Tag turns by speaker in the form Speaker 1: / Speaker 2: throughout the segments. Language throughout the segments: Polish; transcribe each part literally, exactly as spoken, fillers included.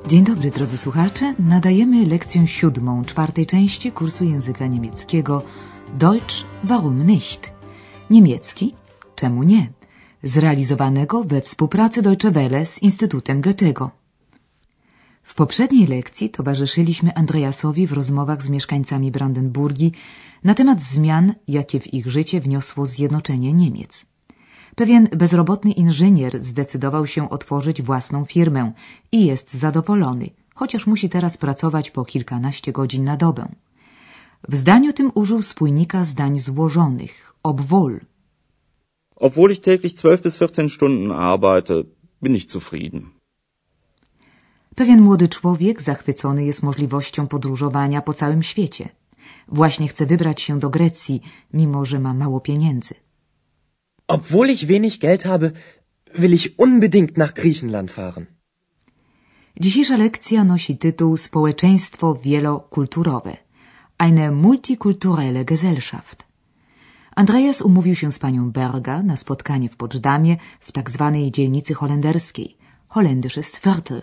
Speaker 1: Dzień dobry, drodzy słuchacze. Nadajemy lekcję siódmą czwartej części kursu języka niemieckiego Deutsch, warum nicht? Niemiecki, czemu nie? Zrealizowanego we współpracy Deutsche Welle z Instytutem Goethego. W poprzedniej lekcji towarzyszyliśmy Andreasowi w rozmowach z mieszkańcami Brandenburgii na temat zmian, jakie w ich życie wniosło zjednoczenie Niemiec. Pewien bezrobotny inżynier zdecydował się otworzyć własną firmę i jest zadowolony, chociaż musi teraz pracować po kilkanaście godzin na dobę. W zdaniu tym użył spójnika zdań złożonych, obwohl.
Speaker 2: Obwohl ich täglich zwölf bis vierzehn Stunden arbeite, bin ich zufrieden.
Speaker 1: Pewien młody człowiek zachwycony jest możliwością podróżowania po całym świecie. Właśnie chce wybrać się do Grecji, mimo że ma mało pieniędzy.
Speaker 3: Obwohl ich wenig Geld habe, will ich unbedingt nach Griechenland fahren.
Speaker 1: Dzisiejsza lekcja nosi tytuł Społeczeństwo wielokulturowe. Eine multikulturelle Gesellschaft. Andreas umówił się z panią Berga na spotkanie w Poczdamie w tak zwanej dzielnicy holenderskiej, Holländisches Viertel.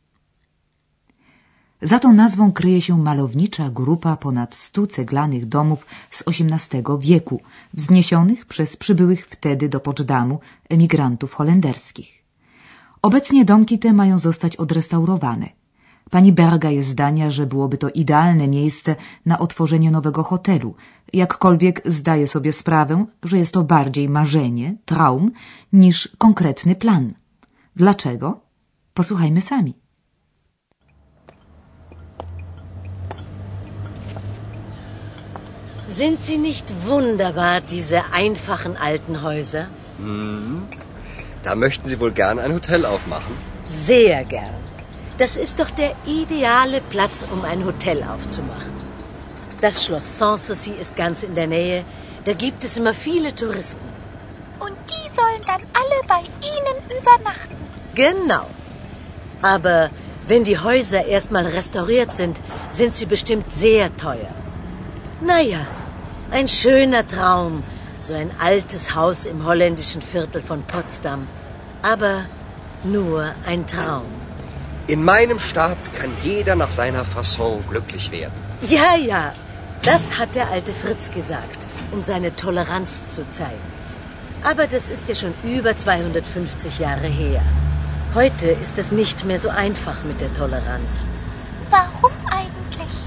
Speaker 1: Za tą nazwą kryje się malownicza grupa ponad stu ceglanych domów z osiemnastego wieku, wzniesionych przez przybyłych wtedy do Poczdamu emigrantów holenderskich. Obecnie domki te mają zostać odrestaurowane. Pani Berga jest zdania, że byłoby to idealne miejsce na otworzenie nowego hotelu, jakkolwiek zdaje sobie sprawę, że jest to bardziej marzenie, traum, niż konkretny plan. Dlaczego? Posłuchajmy sami.
Speaker 4: Sind sie nicht wunderbar, diese einfachen alten Häuser?
Speaker 5: Hm. Da möchten Sie wohl gern ein Hotel aufmachen?
Speaker 4: Sehr gern. Das ist doch der ideale Platz, um ein Hotel aufzumachen. Das Schloss Sanssouci ist ganz in der Nähe. Da gibt es immer viele Touristen.
Speaker 6: Und die sollen dann alle bei Ihnen übernachten?
Speaker 4: Genau. Aber wenn die Häuser erstmal restauriert sind, sind sie bestimmt sehr teuer. Naja, ein schöner Traum, so ein altes Haus im holländischen Viertel von Potsdam. Aber nur ein Traum.
Speaker 5: In meinem Staat kann jeder nach seiner Fasson glücklich werden.
Speaker 4: Ja, ja, das hat der alte Fritz gesagt, um seine Toleranz zu zeigen. Aber das ist ja schon über zweihundertfünfzig Jahre her. Heute ist es nicht mehr so einfach mit der Toleranz.
Speaker 6: Warum eigentlich?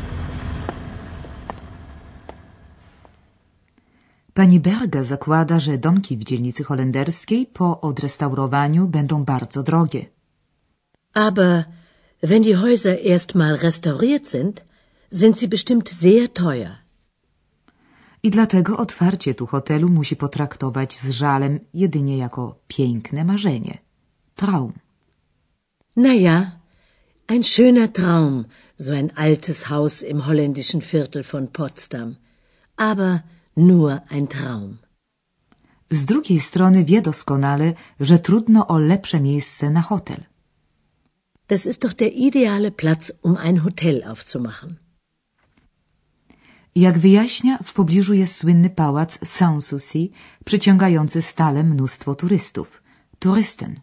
Speaker 1: Pani Berga zakłada, że domki w dzielnicy holenderskiej po odrestaurowaniu będą bardzo drogie.
Speaker 4: Aber wenn die Häuser erstmal restauriert sind, sind sie bestimmt sehr teuer.
Speaker 1: I dlatego otwarcie tu hotelu musi potraktować z żalem jedynie jako piękne marzenie. Traum.
Speaker 4: Naja, ein schöner Traum, so ein altes Haus im holländischen Viertel von Potsdam. Aber nur ein Traum.
Speaker 1: Z drugiej strony wie doskonale, że trudno o lepsze miejsce na hotel.
Speaker 4: Das ist doch der ideale Platz, um ein Hotel aufzumachen.
Speaker 1: Jak wyjaśnia, w pobliżu jest słynny pałac Sanssouci, przyciągający stale mnóstwo turystów. Touristen.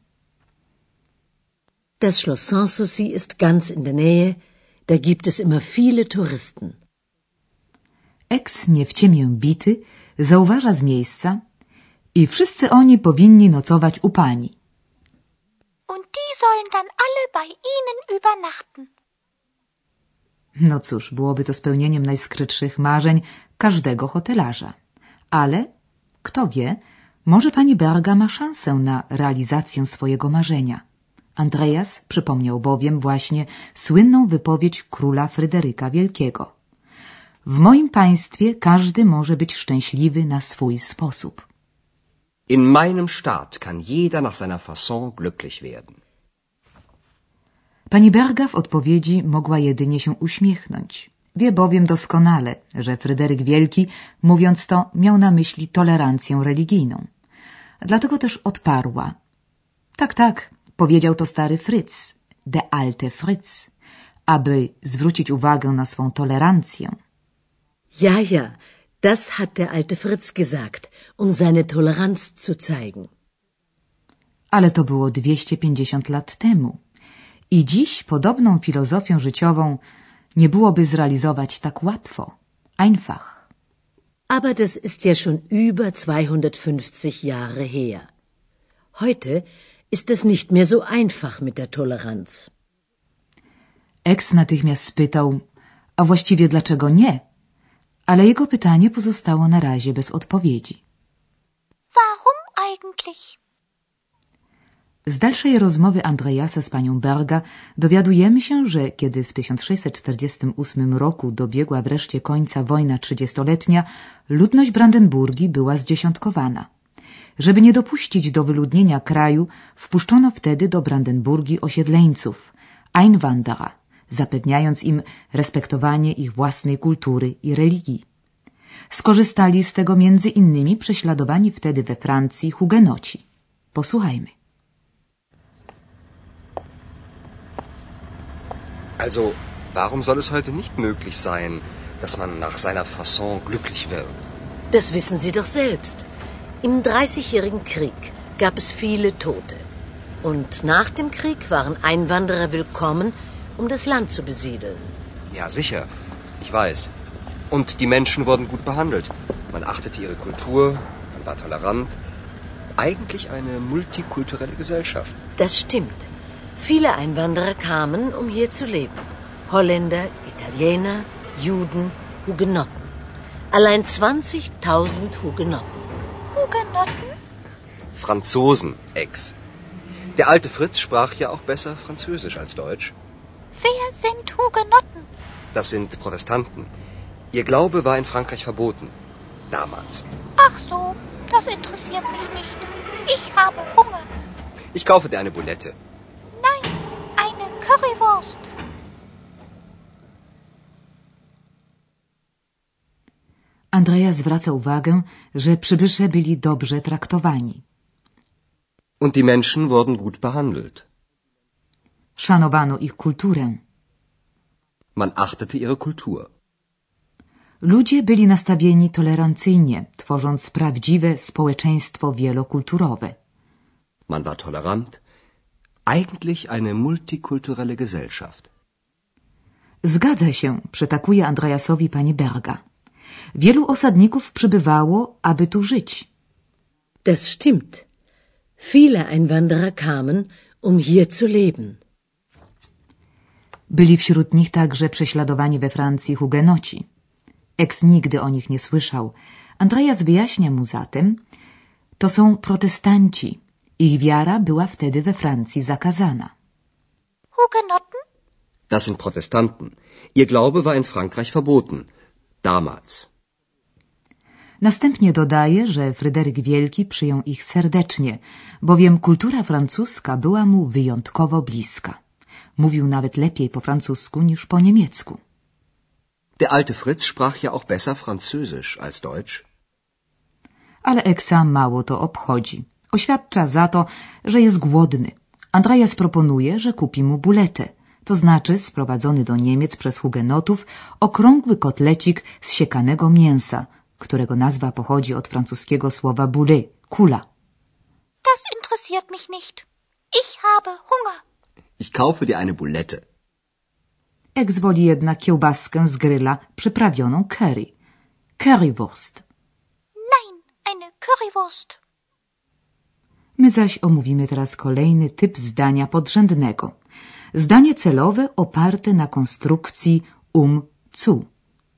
Speaker 4: Das Schloss Sanssouci ist ganz in der Nähe. Da gibt es immer viele Touristen.
Speaker 1: Eks nie w ciemię bity zauważa z miejsca i wszyscy oni powinni nocować u pani.
Speaker 6: Und die sollen dann alle bei Ihnen übernachten.
Speaker 1: No cóż, byłoby to spełnieniem najskrytszych marzeń każdego hotelarza. Ale, kto wie, może pani Berga ma szansę na realizację swojego marzenia. Andreas przypomniał bowiem właśnie słynną wypowiedź króla Fryderyka Wielkiego. W moim państwie każdy może być szczęśliwy na swój sposób.
Speaker 5: In meinem Staat kann jeder nach seiner Fasson glücklich werden.
Speaker 1: Pani Berga w odpowiedzi mogła jedynie się uśmiechnąć. Wie bowiem doskonale, że Fryderyk Wielki, mówiąc to, miał na myśli tolerancję religijną. Dlatego też odparła. Tak, tak, powiedział to stary Fritz, der alte Fritz, aby zwrócić uwagę na swą tolerancję.
Speaker 4: Ja, ja, das hat der alte Fritz gesagt, um seine Toleranz zu zeigen.
Speaker 1: Ale to było dwieście pięćdziesiąt lat temu. I dziś podobną filozofię życiową nie byłoby zrealizować tak łatwo. Einfach.
Speaker 4: Aber das ist ja schon über zweihundertfünfzig Jahre her. Heute ist es nicht mehr so einfach mit der Toleranz.
Speaker 1: Ex natychmiast spytał, a właściwie dlaczego nie? Ale jego pytanie pozostało na razie bez odpowiedzi.
Speaker 6: Warum eigentlich?
Speaker 1: Z dalszej rozmowy Andreasa z panią Berga dowiadujemy się, że kiedy w tysiąc sześćset czterdziestym ósmym roku dobiegła wreszcie końca wojna trzydziestoletnia, ludność Brandenburgii była zdziesiątkowana. Żeby nie dopuścić do wyludnienia kraju, wpuszczono wtedy do Brandenburgii osiedleńców, Einwanderer, zapewniając im respektowanie ich własnej kultury i religii. Skorzystali z tego między innymi prześladowani wtedy we Francji hugenoci. Posłuchajmy.
Speaker 5: Also, warum soll es heute nicht möglich sein, dass man nach seiner Fasson glücklich wird?
Speaker 4: Das wissen Sie doch selbst. Im Dreißigjährigen Krieg gab es viele Tote. Und nach dem Krieg waren Einwanderer willkommen, um das Land zu besiedeln.
Speaker 5: Ja, sicher. Ich weiß. Und die Menschen wurden gut behandelt. Man achtete ihre Kultur, man war tolerant. Eigentlich eine multikulturelle Gesellschaft.
Speaker 4: Das stimmt. Viele Einwanderer kamen, um hier zu leben. Holländer, Italiener, Juden, Hugenotten. Allein zwanzigtausend Hugenotten.
Speaker 6: Hugenotten?
Speaker 5: Franzosen, Ex. Der alte Fritz sprach ja auch besser Französisch als Deutsch.
Speaker 6: Wer sind Hugenotten?
Speaker 5: Das sind Protestanten. Ihr Glaube war in Frankreich verboten. Damals.
Speaker 6: Ach so, das interessiert mich nicht. Ich habe Hunger.
Speaker 5: Ich kaufe dir eine Boulette.
Speaker 6: Nein, eine Currywurst.
Speaker 1: Andrea zwraca uwagę, że przybysze byli dobrze traktowani.
Speaker 5: Und die Menschen wurden gut behandelt.
Speaker 1: Szanowano ich kulturę.
Speaker 5: Man achtete ihre Kultur.
Speaker 1: Ludzie byli nastawieni tolerancyjnie, tworząc prawdziwe społeczeństwo wielokulturowe.
Speaker 5: Man war tolerant. Eigentlich eine multikulturelle Gesellschaft.
Speaker 1: Zgadza się, przytakuje Andreasowi pani Berga. Wielu osadników przybywało, aby tu żyć.
Speaker 4: Das stimmt. Viele Einwanderer kamen, um hier zu leben.
Speaker 1: Byli wśród nich także prześladowani we Francji hugenoci. Ex nigdy o nich nie słyszał. Andreas wyjaśnia mu zatem, to są protestanci. Ich wiara była wtedy we Francji zakazana.
Speaker 6: Hugenotten?
Speaker 5: Das sind Protestanten. Ihr Glaube war in Frankreich verboten. Damals.
Speaker 1: Następnie dodaje, że Fryderyk Wielki przyjął ich serdecznie, bowiem kultura francuska była mu wyjątkowo bliska. Mówił nawet lepiej po francusku niż po niemiecku.
Speaker 5: Der alte Fritz sprach ja auch besser Französisch als Deutsch.
Speaker 1: Ale Eksa mało to obchodzi. Oświadcza za to, że jest głodny. Andreas proponuje, że kupi mu buletę, to znaczy sprowadzony do Niemiec przez hugenotów okrągły kotlecik z siekanego mięsa, którego nazwa pochodzi od francuskiego słowa boulet, kula.
Speaker 6: Das interessiert mich nicht. Ich habe Hunger.
Speaker 5: Ich kaufe dir eine Boulette.
Speaker 1: Ex woli jednak kiełbaskę z gryla przyprawioną curry. Currywurst.
Speaker 6: Nein, eine Currywurst.
Speaker 1: My zaś omówimy teraz kolejny typ zdania podrzędnego. Zdanie celowe oparte na konstrukcji um zu.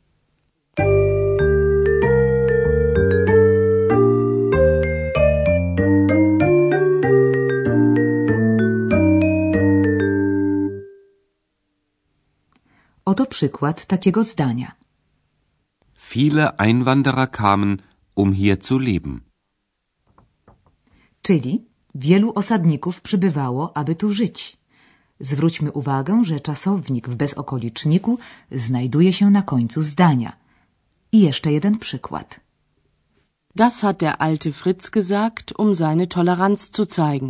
Speaker 1: Oto przykład takiego zdania.
Speaker 7: Viele Einwanderer kamen, um hier zu leben.
Speaker 1: Czyli wielu osadników przybywało, aby tu żyć. Zwróćmy uwagę, że czasownik w bezokoliczniku znajduje się na końcu zdania. I jeszcze jeden przykład.
Speaker 8: Das hat der alte Fritz gesagt, um seine Toleranz zu zeigen.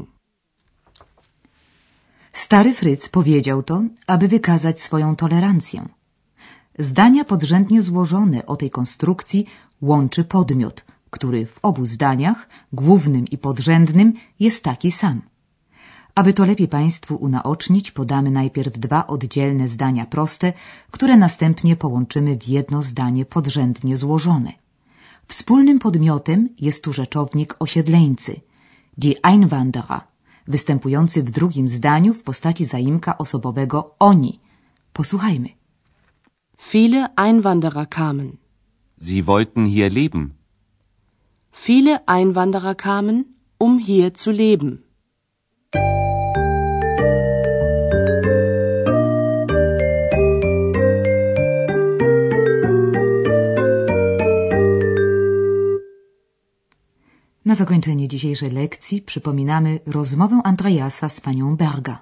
Speaker 1: Stary Fryc powiedział to, aby wykazać swoją tolerancję. Zdania podrzędnie złożone o tej konstrukcji łączy podmiot, który w obu zdaniach, głównym i podrzędnym, jest taki sam. Aby to lepiej Państwu unaocznić, podamy najpierw dwa oddzielne zdania proste, które następnie połączymy w jedno zdanie podrzędnie złożone. Wspólnym podmiotem jest tu rzeczownik osiedleńcy, die Einwanderer, występujący w drugim zdaniu w postaci zaimka osobowego oni. Posłuchajmy.
Speaker 8: Viele Einwanderer kamen.
Speaker 7: Sie wollten hier leben.
Speaker 8: Viele Einwanderer kamen, um hier zu leben.
Speaker 1: Na zakończenie dzisiejszej lekcji przypominamy rozmowę Andreasa z panią Berga.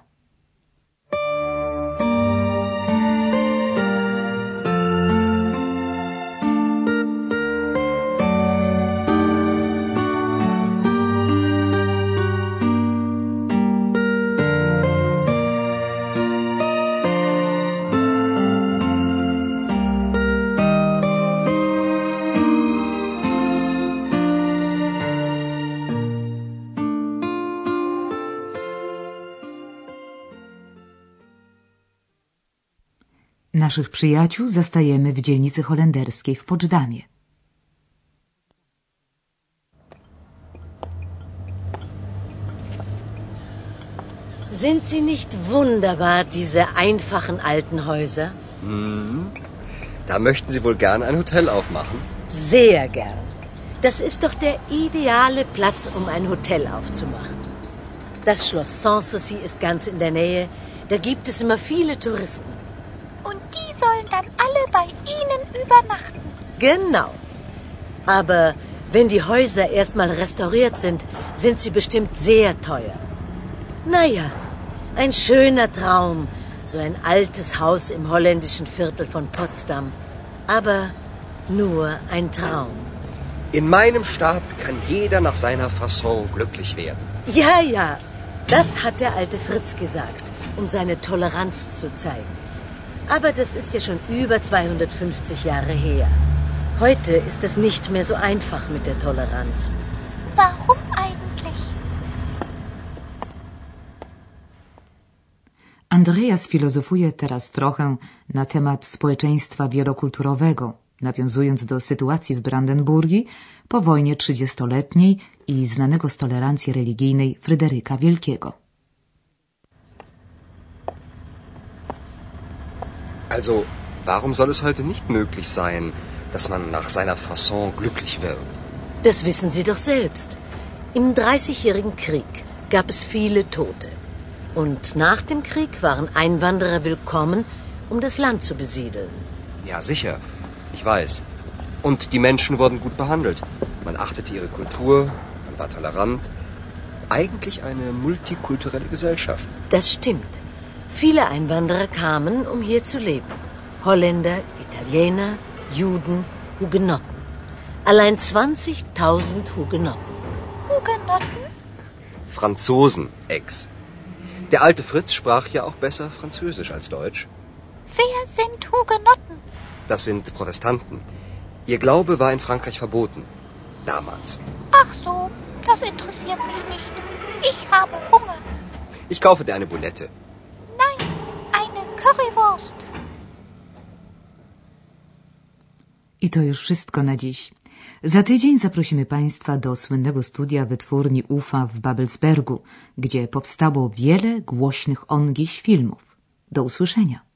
Speaker 1: Naszych przyjaciół zastajemy w dzielnicy holenderskiej w Poczdamie.
Speaker 4: Sind sie nicht wunderbar, diese einfachen alten Häuser?
Speaker 5: Hm. Da möchten Sie wohl gern ein Hotel aufmachen?
Speaker 4: Sehr gern. Das ist doch der ideale Platz, um ein Hotel aufzumachen. Das Schloss Sanssouci ist ganz in der Nähe. Da gibt es immer viele Touristen.
Speaker 6: Und die sollen dann alle bei Ihnen übernachten.
Speaker 4: Genau. Aber wenn die Häuser erstmal restauriert sind, sind sie bestimmt sehr teuer. Naja, ein schöner Traum, so ein altes Haus im holländischen Viertel von Potsdam. Aber nur ein Traum.
Speaker 5: In meinem Staat kann jeder nach seiner Fasson glücklich werden.
Speaker 4: Ja, ja, das hat der alte Fritz gesagt, um seine Toleranz zu zeigen. Aber das ist ja schon über zweihundertfünfzig Jahre her. Heute ist es nicht mehr so einfach mit der Toleranz.
Speaker 6: Warum eigentlich?
Speaker 1: Andreas filozofuje teraz trochę na temat społeczeństwa wielokulturowego, nawiązując do sytuacji w Brandenburgii po wojnie trzydziestoletniej i znanego z tolerancji religijnej Fryderyka Wielkiego.
Speaker 5: Also, warum soll es heute nicht möglich sein, dass man nach seiner Fasson glücklich wird?
Speaker 4: Das wissen Sie doch selbst. Im Dreißigjährigen Krieg gab es viele Tote. Und nach dem Krieg waren Einwanderer willkommen, um das Land zu besiedeln.
Speaker 5: Ja, sicher. Ich weiß. Und die Menschen wurden gut behandelt. Man achtete ihre Kultur, man war tolerant. Eigentlich eine multikulturelle Gesellschaft.
Speaker 4: Das stimmt. Viele Einwanderer kamen, um hier zu leben. Holländer, Italiener, Juden, Hugenotten. Allein zwanzigtausend Hugenotten.
Speaker 6: Hugenotten?
Speaker 5: Franzosen, Ex. Der alte Fritz sprach ja auch besser Französisch als Deutsch.
Speaker 6: Wer sind Hugenotten?
Speaker 5: Das sind Protestanten. Ihr Glaube war in Frankreich verboten. Damals.
Speaker 6: Ach so, das interessiert mich nicht. Ich habe Hunger.
Speaker 5: Ich kaufe dir eine Boulette.
Speaker 6: Nein, eine Currywurst.
Speaker 1: I to już wszystko na dziś. Za tydzień zaprosimy Państwa do słynnego studia wytwórni U F A w Babelsbergu, gdzie powstało wiele głośnych ongiś filmów. Do usłyszenia.